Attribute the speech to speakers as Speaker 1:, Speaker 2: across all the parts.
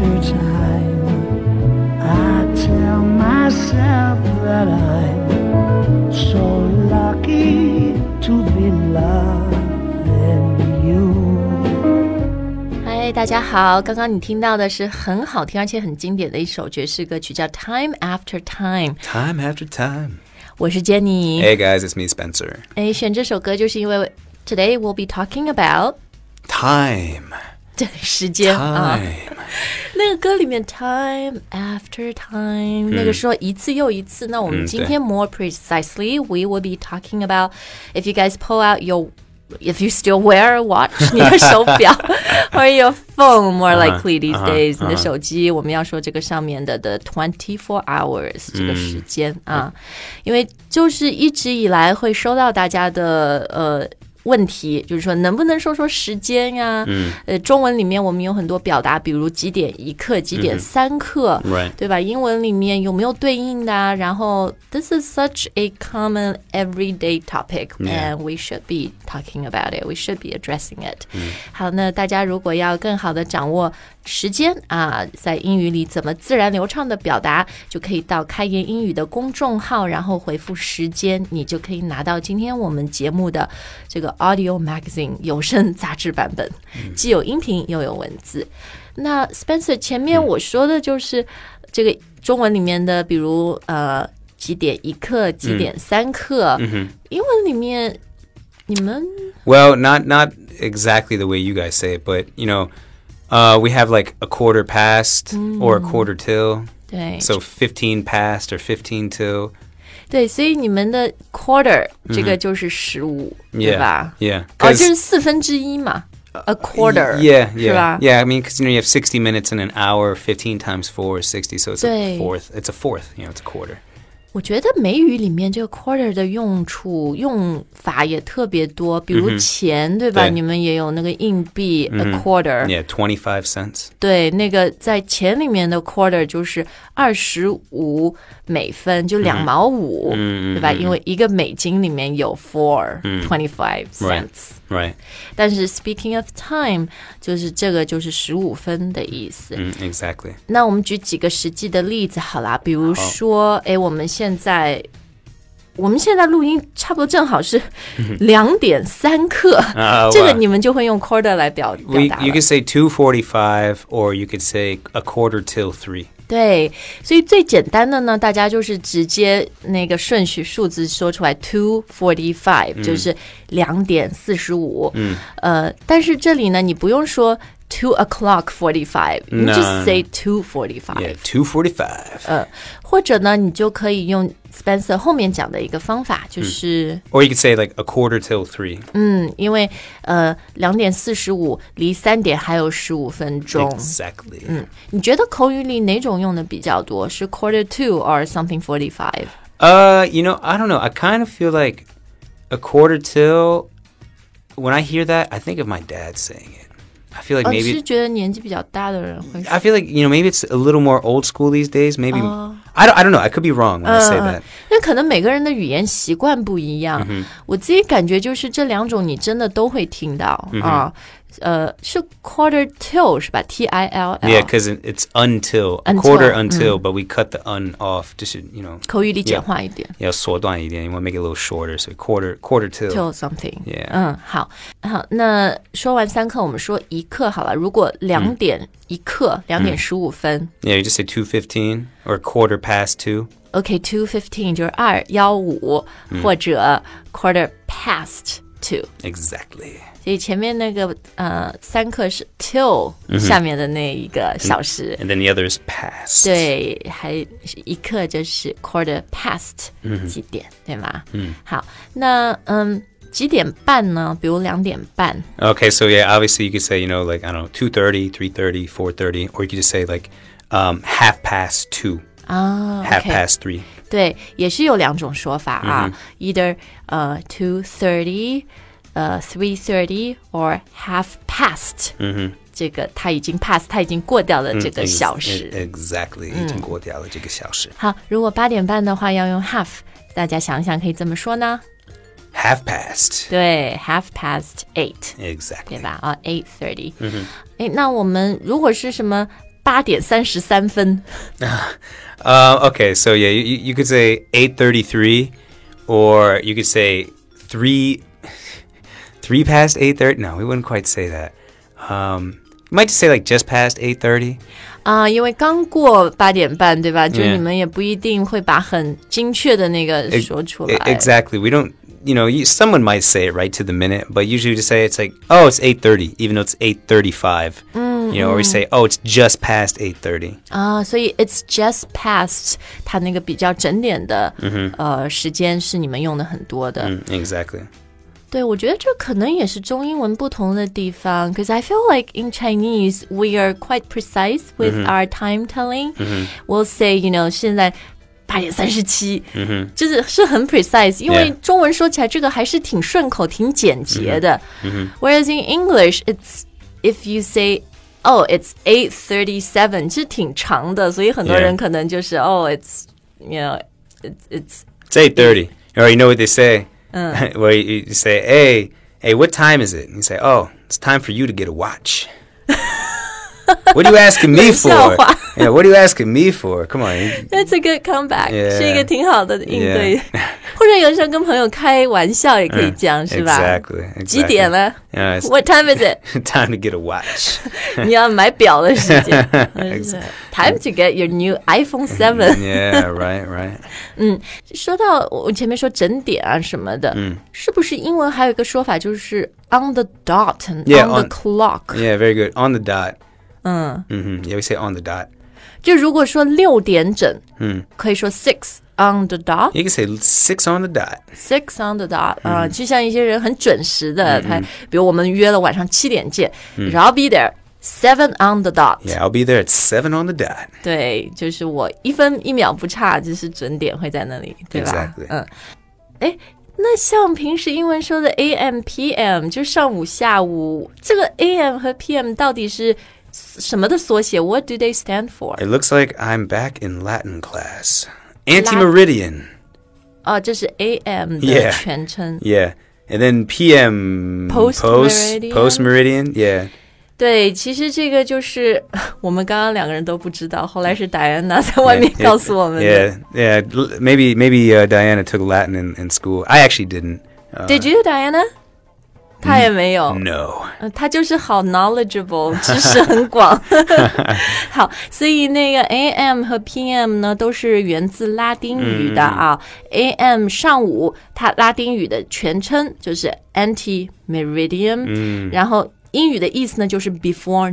Speaker 1: after time, I tell myself that I'm so lucky to be loving you.
Speaker 2: 嗨，大家好，刚刚你听到的是很好听而且很经典的一首爵士歌曲，叫 Time After Time。
Speaker 3: Time After Time。
Speaker 2: 我是 Jenny。
Speaker 3: Hey guys, it's me, Spencer.
Speaker 2: 选这首歌就是因为 Today we'll be talking about
Speaker 3: Time.
Speaker 2: 这时间啊，
Speaker 3: Time.
Speaker 2: 那个歌里面 Time After Time、那个说一次又一次。那我们今天 more precisely we will be talking about if you guys pull out if you still wear a watch 你的手表or your phone more likely these days、你的手机，我们要说这个上面的 the 24 hours 这个时间啊，因为就是一直以来会收到大家的问题，就是说能不能说时间呀？中文里面我们有很多表达，比如几点一刻、几点三刻，对吧？英文里面有没有对应的啊？然后 this is such a common everyday topic and we should be talking about it. We should be addressing it. 好，那大家如果要更好的掌握时间啊，在英语里怎么自然流畅的表达，就可以到开言英语的公众号，然后回复时间，你就可以拿到今天我们节目的这个 Audio Magazine 有声杂志版本，既有音频又有文字。那 Spencer 前面我说的就是这个中文里面的，比如几点一刻、几点三刻，英文里面你们
Speaker 3: Well, not exactly the way you guys say it, but you know, we have like a quarter past or a quarter till.
Speaker 2: 对
Speaker 3: So 15 past or 15 till.
Speaker 2: 对，所以你们的 quarter 这个就是15、对吧？
Speaker 3: Yeah.
Speaker 2: 这是1/4嘛 ，a quarter.
Speaker 3: Yeah,
Speaker 2: 是吧
Speaker 3: yeah. I mean, because you know you have 60 minutes in an hour. 15 times 4 is 60, so it's
Speaker 2: 对
Speaker 3: a fourth. It's a fourth. You know, it's a quarter.
Speaker 2: 我觉得美语里面这个 quarter 的用法也特别多，比如钱，对吧？
Speaker 3: 对
Speaker 2: 你们也有那个硬币、a quarter。
Speaker 3: Yeah, 25 cents.
Speaker 2: 对，那个在钱里面的 quarter 就是25美分，就2毛5，对吧？因为一个美金里面有 25 cents。
Speaker 3: Right.
Speaker 2: 但是 speaking of time 就是这个就是15分的意思。
Speaker 3: Exactly.
Speaker 2: 那我们举几个实际的例子好啦，比如说我们现在录音差不多正好是2点3刻，这个你们就会用 quarter 来表达了。
Speaker 3: You could say 2:45 or you could say a quarter till 3.
Speaker 2: 对，所以最简单的呢，大家就是直接那个顺序数字说出来 2:45、就是2点45。但是这里呢，你不用说 2:45，你 just say 2:45。
Speaker 3: Yeah, 2:45.
Speaker 2: 或者呢，你就可以用 Spencer 后面讲的一个方法，就是，
Speaker 3: Or you could say like a quarter till 3.
Speaker 2: 因为2点45离3点还有15分钟。
Speaker 3: Exactly.
Speaker 2: 你觉得口语里哪种用的比较多？是 quarter to or something 45？
Speaker 3: You know, I don't know. I kind of feel like a quarter till. When I hear that, I think of my dad saying it. I feel like
Speaker 2: 是
Speaker 3: maybe.
Speaker 2: 觉得年纪比较大的人会说。
Speaker 3: I feel like, you know, maybe it's a little more old school these days. Maybe I don't know. I could be wrong when I say that.
Speaker 2: 那可能每个人的语言习惯不一样。我自己感觉就是这两种你真的都会听到啊。是 quarter till 是吧 ？T-I-L-L。
Speaker 3: Yeah, because it's until. A quarter until, but we cut the un off. Just, you know.
Speaker 2: 口语里简化一点。
Speaker 3: 要缩短一点 You want to make it a little shorter, so quarter till.
Speaker 2: Till something.
Speaker 3: Yeah.
Speaker 2: 好，那说完3刻，我们说1刻好了。如果2点1刻，2点15分。
Speaker 3: Yeah, you just say 2:15 or quarter past 2.
Speaker 2: OK, 2:15 就是2:15，或者 quarter past 2。
Speaker 3: Exactly.
Speaker 2: 所以前面那个3刻是 till 下面的那一个小时。
Speaker 3: And then the other is past.
Speaker 2: 对，还1刻就是 quarter past 几点，对吗？好，那几点半呢？比如2点半。
Speaker 3: Okay, so yeah, obviously you could say, you know, like, I don't know, 2:30, 3:30, 4:30, or you could just say like half past 2. Half past 3.
Speaker 2: 对，也是有2种说法啊，either 2:30 3:30 or half past。 这个他已经 pass， 他已经过掉了这个小时。
Speaker 3: Exactly， 已经过掉了这个小时。
Speaker 2: 好，如果8点半的话要用 half， 大家想想可以怎么说呢？
Speaker 3: Half past。
Speaker 2: 对 half past 8。
Speaker 3: Exactly。
Speaker 2: 对吧？8:30。那我们如果是什么 8:33。
Speaker 3: Okay, so yeah, you could say 8:33, or you could say 3 past 8:30. No, we wouldn't quite say that. You might just say like just past 8:30.
Speaker 2: 因为刚过8:30，对吧？就你们也不一定会把很精确的那个说出来。
Speaker 3: Exactly. We don't. Someone might say it right to the minute, but usually we just say it's like, oh, it's 8:30, even though it's 8:35. Or we say, oh, it's just past 8:30.
Speaker 2: 所以 it's just past 它那个比较整点的时间是你们用的很多的。
Speaker 3: Exactly.
Speaker 2: 对，我觉得这可能也是中英文不同的地方 because I feel like in Chinese we are quite precise with our time telling. We'll say, 现在8:37，就是很 precise， 因为中文说起来这个还是挺顺口、挺简洁的。Whereas in English, it's if you say, oh, it's 8:37， 其实挺长的，所以很多人可能就是 oh, it's it's
Speaker 3: 8:30. Or you know what they say? Where you say, hey, what time is it? And you say, oh, it's time for you to get a watch. What are you asking me for? Yeah, what are you asking me for? Come on.
Speaker 2: That's a good comeback. 是一个挺好的应对。或者有时候跟朋友开玩笑也可以讲，是吧？
Speaker 3: Exactly.
Speaker 2: 几点了？What time is it?
Speaker 3: Time to get a watch.
Speaker 2: 你要买表的时间。Time to get your new iPhone 7.
Speaker 3: Yeah, right.
Speaker 2: 说到我前面说整点啊什么的，是不是英文还有一个说法就是 on the dot and on the clock?
Speaker 3: Yeah, very good. On the dot. Yeah, we say on the dot.
Speaker 2: 就如果说6点整，可以说 6 on the dot.
Speaker 3: You can say 6 on the dot.
Speaker 2: 6 on the dot. 就像一些人很准时的，他比如我们约了晚上7点见，然后 be there 7 on the dot.
Speaker 3: Yeah, I'll be there at 7 on the dot.
Speaker 2: 对，就是我1分1秒不差，就是准点会在那里，对吧？
Speaker 3: Exactly.
Speaker 2: 那像平时英文说的 AM PM 就上午下午，这个 AM 和 PM 到底是什么的缩写 ？What do they stand for?
Speaker 3: It looks like I'm back in Latin class. Anti-meridian.
Speaker 2: 这是 AM 的全称。
Speaker 3: Yeah. And then PM. Post-meridian. Yeah.
Speaker 2: 对，其实这个就是我们刚刚2个人都不知道，后来是 Diana 在外面告诉我们的。
Speaker 3: Yeah. Maybe Diana took Latin in school. I actually didn't.
Speaker 2: Did you, Diana? 他也没有
Speaker 3: No.
Speaker 2: 他就是好 knowledgeable 知识很广好，所以那个 AM 和 PM 呢都是源自拉丁语的啊。AM 上午它拉丁语的全称就是 anti-meridian，然后英语的意思呢就是 before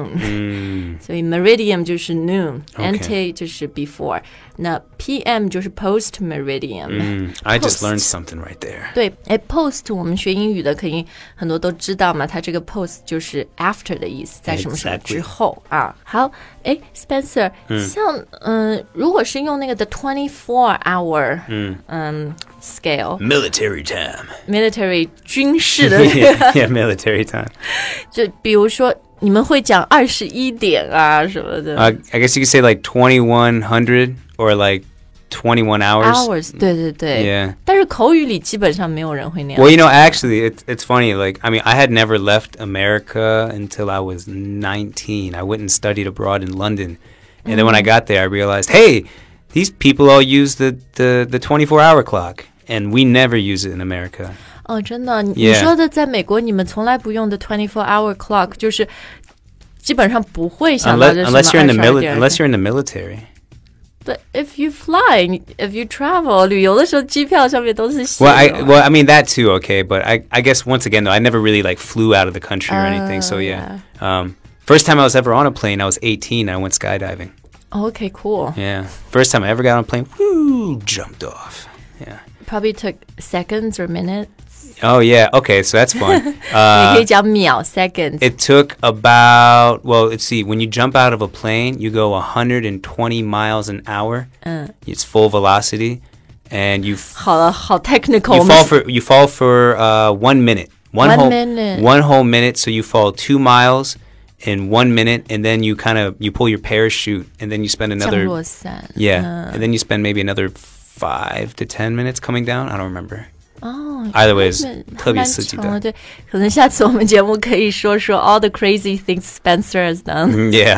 Speaker 2: noon，所以 meridian 就是 noon，anti 就是 before， 那 PM 就是 post meridian。I
Speaker 3: just learned something right there。
Speaker 2: 对，post 我们学英语的肯定很多都知道嘛，它这个 post 就是 after 的意思，在什么什么之后啊。好，Spencer，像如果是用那个 the 24 hour scale
Speaker 3: military time
Speaker 2: military 军事的
Speaker 3: yeah military time
Speaker 2: 就比如说你们会讲21点啊什么的
Speaker 3: I guess you could say like 2100 or like 21 hours
Speaker 2: 对对对
Speaker 3: yeah
Speaker 2: 但是口语里基本上没有人会那样
Speaker 3: Well, you know, actually, it's funny. Like, I mean, I had never left America until I was 19. I went and studied abroad in London. And then when I got there, I realized, hey, these people all use the 24-hour clock. And we never use it in America.
Speaker 2: 哦，真的？你说的在美国你们从来不用的 24-hour clock 就是基本上不会想到这什么
Speaker 3: unless you're in the military.
Speaker 2: But if you fly, if you travel, 旅游的时候机票上面都是写
Speaker 3: Well, I mean that too, okay. But I guess once again though, I never really like flew out of the country or anything. So yeah. First time I was ever on a plane, I was 18. I went skydiving.
Speaker 2: Okay, cool.
Speaker 3: Yeah. First time I ever got on a plane, whoo, jumped off. Yeah.
Speaker 2: Probably took seconds or minutes.
Speaker 3: Oh, yeah. Okay, so that's fun.
Speaker 2: 你可以讲秒 seconds.
Speaker 3: It took about, well, let's see. When you jump out of a plane, you go 120 miles an hour. It's full velocity. And you...
Speaker 2: 好了，好 technical.
Speaker 3: You fall for 1 minute. One whole minute. So you fall 2 miles in 1 minute. And then you pull your parachute. And then you spend another...
Speaker 2: 降落伞
Speaker 3: Yeah. And then you spend maybe another 5 to 10 minutes coming down. I don't remember.
Speaker 2: 哦
Speaker 3: Either way is 特别刺激的。
Speaker 2: 对，可能下次我们节目可以说 all the crazy things Spencer has done.
Speaker 3: Yeah.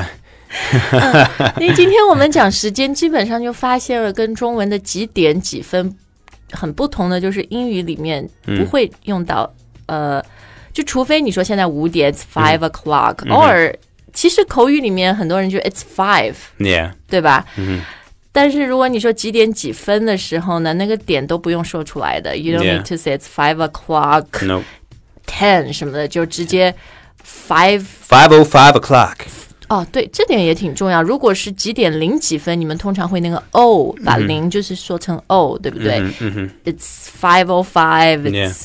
Speaker 2: 因为今天我们讲时间，基本上就发现了跟中文的几点几分很不同的，就是英语里面不会用到就除非你说现在5点 it's 5 o'clock， 偶尔其实口语里面很多人就 it's 5，
Speaker 3: Yeah，
Speaker 2: 对吧？但是如果你说几点几分的时候呢，那个点都不用说出来的。You don't need to say it's 5 o'clock，
Speaker 3: no
Speaker 2: 10什么的，就直接5:05
Speaker 3: o'clock。
Speaker 2: 哦，对，这点也挺重要。如果是几点零几分，你们通常会那个 o 把零就是说成 o， 对不对？It's 5:05 It's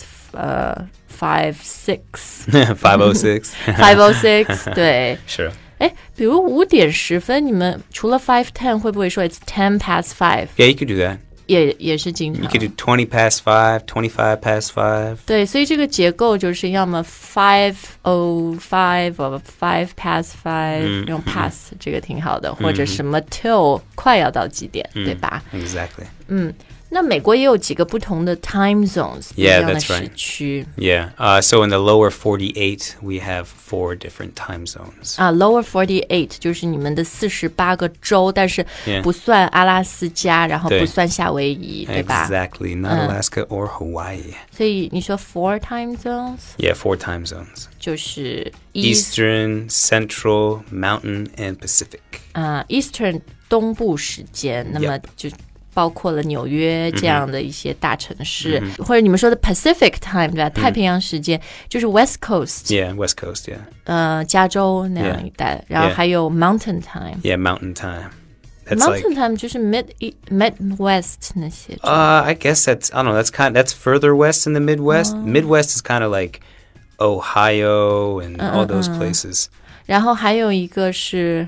Speaker 2: 5:06
Speaker 3: 5:06
Speaker 2: 5:06 对。
Speaker 3: Sure。
Speaker 2: 哎，比如5点10分，你们除了 5:10 会不会说 It's 5:10
Speaker 3: Yeah, you could do that.
Speaker 2: 也是经常。
Speaker 3: You could do 5:20, 25:5.
Speaker 2: 对，所以这个结构就是要么 5:05 或 5:5，用 pass 这个挺好的，或者什么 till 快要到几点，对吧？
Speaker 3: Exactly.
Speaker 2: 那美国也有几个不同的 time zones， 不一
Speaker 3: Yeah,
Speaker 2: 样的
Speaker 3: that's right.
Speaker 2: 时区。
Speaker 3: Yeah. So in the lower 48, we have 4 different time zones.
Speaker 2: Lower 48就是你们的48个州，但是
Speaker 3: Yeah.
Speaker 2: 不算阿拉斯加，然后
Speaker 3: 对
Speaker 2: 不算夏威夷，对吧？
Speaker 3: Exactly. Not Alaska or Hawaii.
Speaker 2: 所以你说 4 time zones
Speaker 3: Yeah, 4 time zones.
Speaker 2: 就是
Speaker 3: Eastern, Central, Mountain, and Pacific.
Speaker 2: Eastern 东部时间，那么就包括了纽约这样的一些大城市，或者你们说的 Pacific time 对吧？太平洋时间就是 West Coast，
Speaker 3: Yeah, West Coast, yeah.
Speaker 2: 加州那样一带，然后还有 Mountain time。
Speaker 3: Yeah, Mountain time. That's
Speaker 2: Mountain time 就是 Midwest 那些。
Speaker 3: I guess that's, I don't know, that's further west in the Midwest. Midwest is kind of like Ohio and all those places.
Speaker 2: 然后还有一个是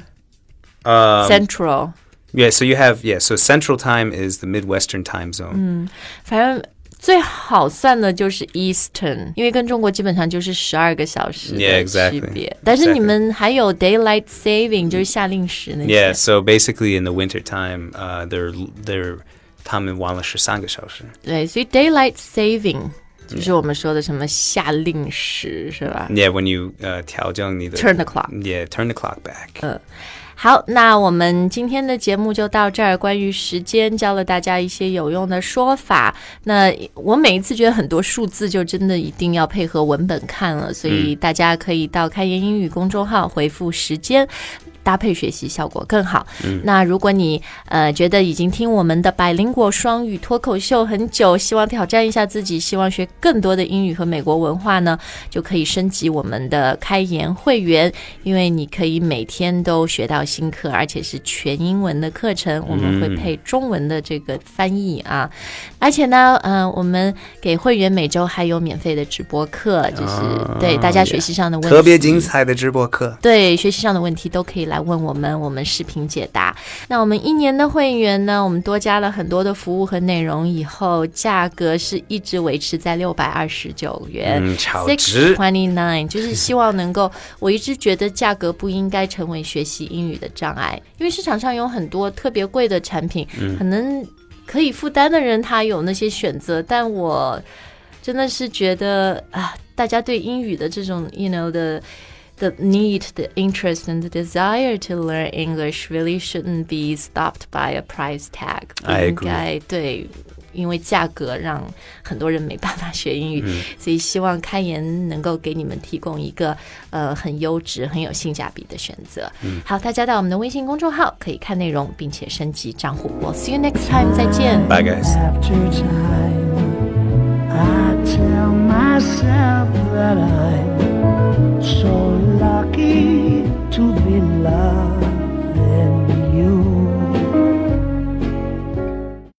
Speaker 2: Central。
Speaker 3: Yeah, so you have, so Central time is the Midwestern time zone.
Speaker 2: 反正最好算的就是 Eastern， 因为跟中国基本上就是12个小时的
Speaker 3: Yeah, exactly.
Speaker 2: 区别。但是你们还有 Daylight Saving， 就是夏令时那些。
Speaker 3: Yeah, so basically in the winter time,他们忘了13个小时。
Speaker 2: 对，所以 Daylight Saving 就是我们说的什么夏令时，是吧？
Speaker 3: Yeah, when you 调整你的
Speaker 2: Turn the clock.
Speaker 3: Yeah, turn the clock back.
Speaker 2: 好，那我们今天的节目就到这儿。关于时间，教了大家一些有用的说法。那我每一次觉得很多数字就真的一定要配合文本看了，所以大家可以到开言英语公众号回复时间，搭配学习效果更好。那如果你觉得已经听我们的百灵果双语脱口秀很久，希望挑战一下自己，希望学更多的英语和美国文化呢，就可以升级我们的开言会员，因为你可以每天都学到新课，而且是全英文的课程，我们会配中文的这个翻译啊。而且呢我们给会员每周还有免费的直播课，就是对大家学习上的问题，
Speaker 3: 特别精彩的直播课，
Speaker 2: 对学习上的问题都可以来问我们视频解答。那我们1年的会员呢，我们多加了很多的服务和内容，以后价格是一直维持在629元，
Speaker 3: 超值
Speaker 2: 629，就是希望能够，我一直觉得价格不应该成为学习英语的障碍，因为市场上有很多特别贵的产品，可能可以负担的人他有那些选择，但我真的是觉得大家对英语的这种 the need, the interest, and the desire to learn English really shouldn't be stopped by a price tag.
Speaker 3: I agree.
Speaker 2: 应该对，因为价格让很多人没办法学英语，所以希望开言能够给你们提供一个很优质、很有性价比的选择。好，大家到我们的微信公众号可以看内容，并且升级账户。We'll see you next time. 再见。
Speaker 3: Bye, guys.
Speaker 1: After time, I tell myself that I'm